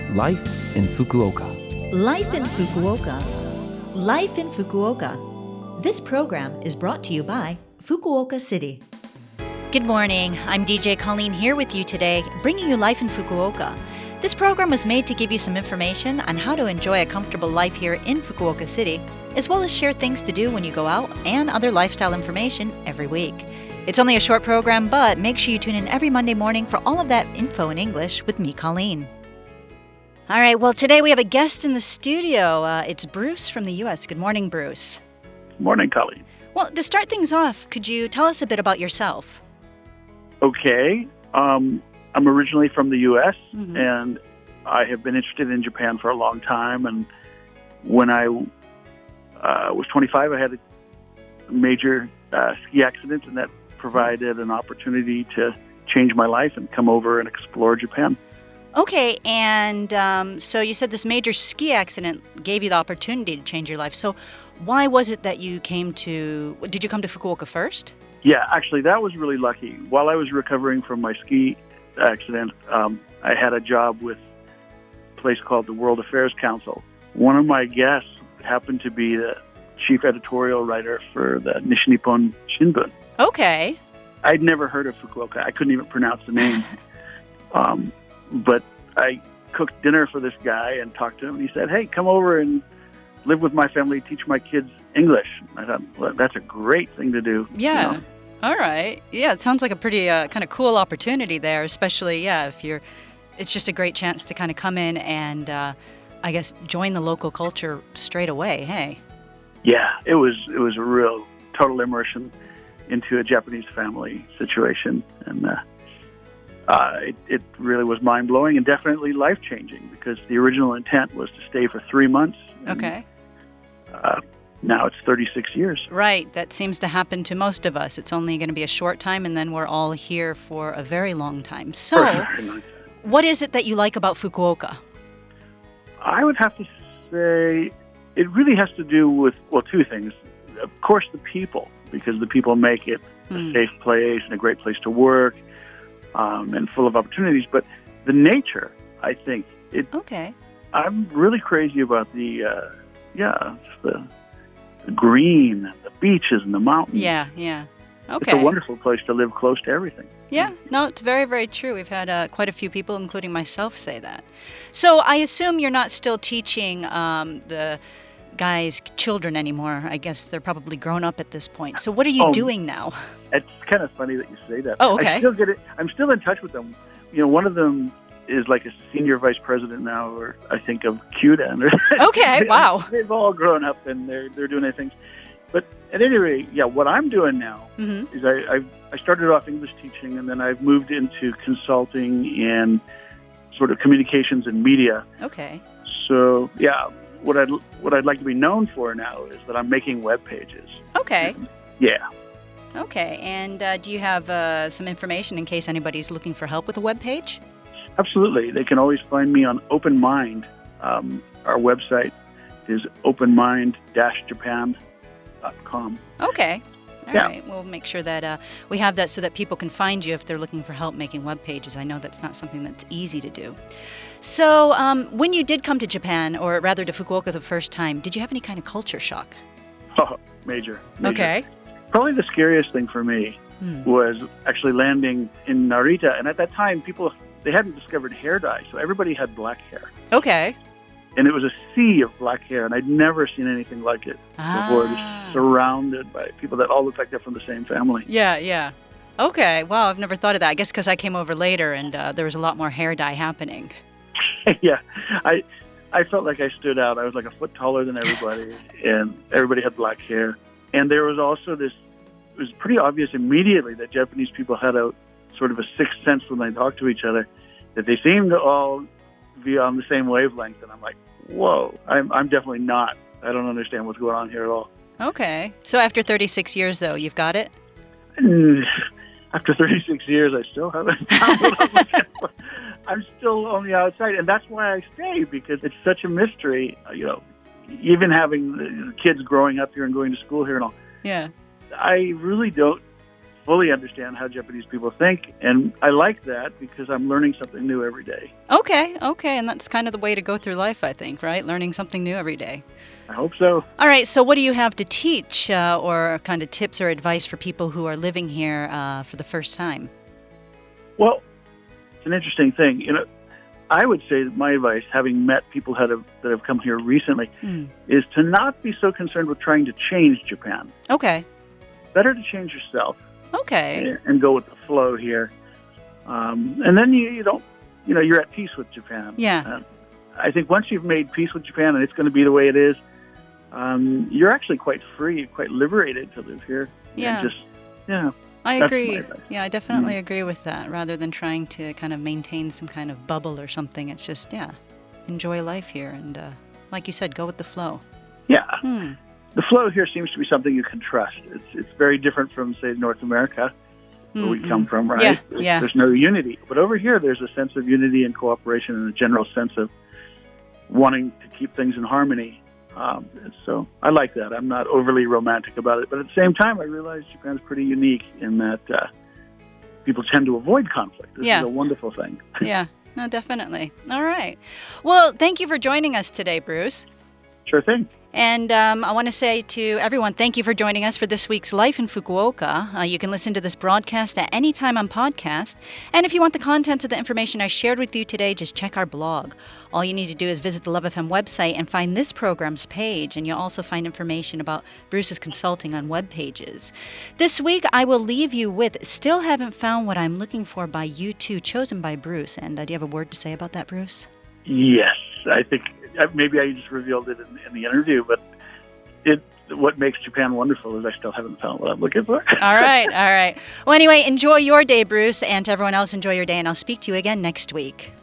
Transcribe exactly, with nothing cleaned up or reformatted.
Life in Fukuoka. Life in Fukuoka. Life in Fukuoka. This program is brought to you by Fukuoka City. Good morning. I'm D J Colleen here with you today, bringing you Life in Fukuoka. This program was made to give you some information on how to enjoy a comfortable life here in Fukuoka City, as well as share things to do when you go out and other lifestyle information every week. It's only a short program, but make sure you tune in every Monday morning for all of that info in English with me, Colleen. All right, well, today we have a guest in the studio. Uh, it's Bruce from the U S. Good morning, Bruce. Morning, Colleen. Well, to start things off, could you tell us a bit about yourself? Okay. Um, I'm originally from the U S, Mm-hmm. and I have been interested in Japan for a long time. And when I uh, was twenty-five, I had a major uh, ski accident, and that provided an opportunity to change my life and come over and explore Japan. Okay, and um, so you said this major ski accident gave you the opportunity to change your life. So why was it that you came to, did you come to Fukuoka first? Yeah, actually, that was really lucky. While I was recovering from my ski accident, um, I had a job with a place called the World Affairs Council. One of my guests happened to be the chief editorial writer for the Nishinippon Shimbun. Okay. I'd never heard of Fukuoka. I couldn't even pronounce the name. um, but I cooked dinner for this guy and talked to him, and he said, hey, come over and live with my family, teach my kids English. I thought, well, that's a great thing to do. Yeah. You know? All right. Yeah, it sounds like a pretty uh, kind of cool opportunity there, especially, yeah, if you're, it's just a great chance to kind of come in and, uh, I guess, join the local culture straight away, hey? Yeah, it was, it was a real total immersion into a Japanese family situation. And uh, uh, it, it really was mind-blowing and definitely life-changing, because the original intent was to stay for three months. Okay. And, uh, now it's thirty-six years. Right. That seems to happen to most of us. It's only going to be a short time, and then we're all here for a very long time. So, what is it that you like about Fukuoka? I would have to say it really has to do with, well, two things. Of course, the people, because the people make it Hmm. a safe place and a great place to work, um, and full of opportunities. But the nature, I think, it. Okay. I'm really crazy about the, uh, yeah, just the, the green, and the beaches, and the mountains. Yeah, yeah. Okay. It's a wonderful place to live close to everything. Yeah, no, it's very, very true. We've had uh, quite a few people, including myself, say that. So I assume you're not still teaching um, the guys' children anymore. I guess they're probably grown up at this point. So what are you Oh, doing now? It's kind of funny that you say that. Oh, okay. I still get it. I'm still in touch with them. You know, one of them is like a senior vice president now, or I think of Kyuden. Okay, wow. They've all grown up and they're they're doing their things. But at any rate, yeah, what I'm doing now Mm-hmm. is I I've, I started off English teaching, and then I've moved into consulting and sort of communications and media. Okay. So yeah, what I'd what I'd like to be known for now is that I'm making web pages. Okay. Yeah. Okay. And uh, do you have uh, some information in case anybody's looking for help with a web page? Absolutely. They can always find me on Open Mind. Um, our website is open mind dash japan dot com. Okay. All Yeah. right. We'll make sure that uh, we have that so that people can find you if they're looking for help making web pages. I know that's not something that's easy to do. So um, when you did come to Japan, or rather to Fukuoka the first time, did you have any kind of culture shock? Oh, major, major. Okay. Probably the scariest thing for me Hmm. was actually landing in Narita. And at that time, people, they hadn't discovered hair dye, so everybody had black hair. Okay. And it was a sea of black hair, and I'd never seen anything like it before. Ah. Just surrounded by people that all looked like they're from the same family. Yeah, yeah. Okay. Wow, I've never thought of that. I guess because I came over later and uh, there was a lot more hair dye happening. Yeah, I I felt like I stood out. I was like a foot taller than everybody, and everybody had black hair. And there was also this, it was pretty obvious immediately that Japanese people had a sort of a sixth sense when they talked to each other, that they seemed to all be on the same wavelength. And I'm like, whoa, I'm, I'm definitely not. I don't understand what's going on here at all. Okay. So after thirty-six years, though, you've got it? And after thirty-six years, I still haven't found what I'm looking for. I'm still on the outside, and that's why I stay, because it's such a mystery. You know, even having the kids growing up here and going to school here and all, Yeah. I really don't fully understand how Japanese people think, and I like that because I'm learning something new every day. Okay, okay, and that's kind of the way to go through life, I think, right? Learning something new every day. I hope so. All right, so what do you have to teach uh, or kind of tips or advice for people who are living here uh, for the first time? Well, it's an interesting thing. You know, I would say that my advice, having met people that have, that have come here recently, mm. is to not be so concerned with trying to change Japan. Okay. Better to change yourself. Okay. And, and go with the flow here. Um, and then you, you don't, you know, you're at peace with Japan. Yeah. Uh, I think once you've made peace with Japan and it's going to be the way it is, um, you're actually quite free, quite liberated to live here. Yeah. And just, yeah. I agree. Yeah, I definitely mm. agree with that. Rather than trying to kind of maintain some kind of bubble or something, it's just, yeah, enjoy life here. And uh, like you said, go with the flow. Yeah. Hmm. The flow here seems to be something you can trust. It's it's very different from, say, North America, where mm-hmm. we come from, right? Yeah, there's, yeah. there's no unity. But over here, there's a sense of unity and cooperation and a general sense of wanting to keep things in harmony. Um, so I like that. I'm not overly romantic about it. But at the same time, I realize Japan's pretty unique in that uh, people tend to avoid conflict. This yeah. is a wonderful thing. Yeah, no, definitely. All right. Well, thank you for joining us today, Bruce. Sure thing. And um, I want to say to everyone, thank you for joining us for this week's Life in Fukuoka. Uh, you can listen to this broadcast at any time on podcast. And if you want the contents of the information I shared with you today, just check our blog. All you need to do is visit the Love F M website and find this program's page. And you'll also find information about Bruce's consulting on web pages. This week, I will leave you with Still Haven't Found What I'm Looking For by U two, chosen by Bruce. And uh, do you have a word to say about that, Bruce? Yes, I think maybe I just revealed it in, in the interview, but it what makes Japan wonderful is I still haven't found what I'm looking for. All right, all right. Well, anyway, enjoy your day, Bruce, and to everyone else, enjoy your day, and I'll speak to you again next week.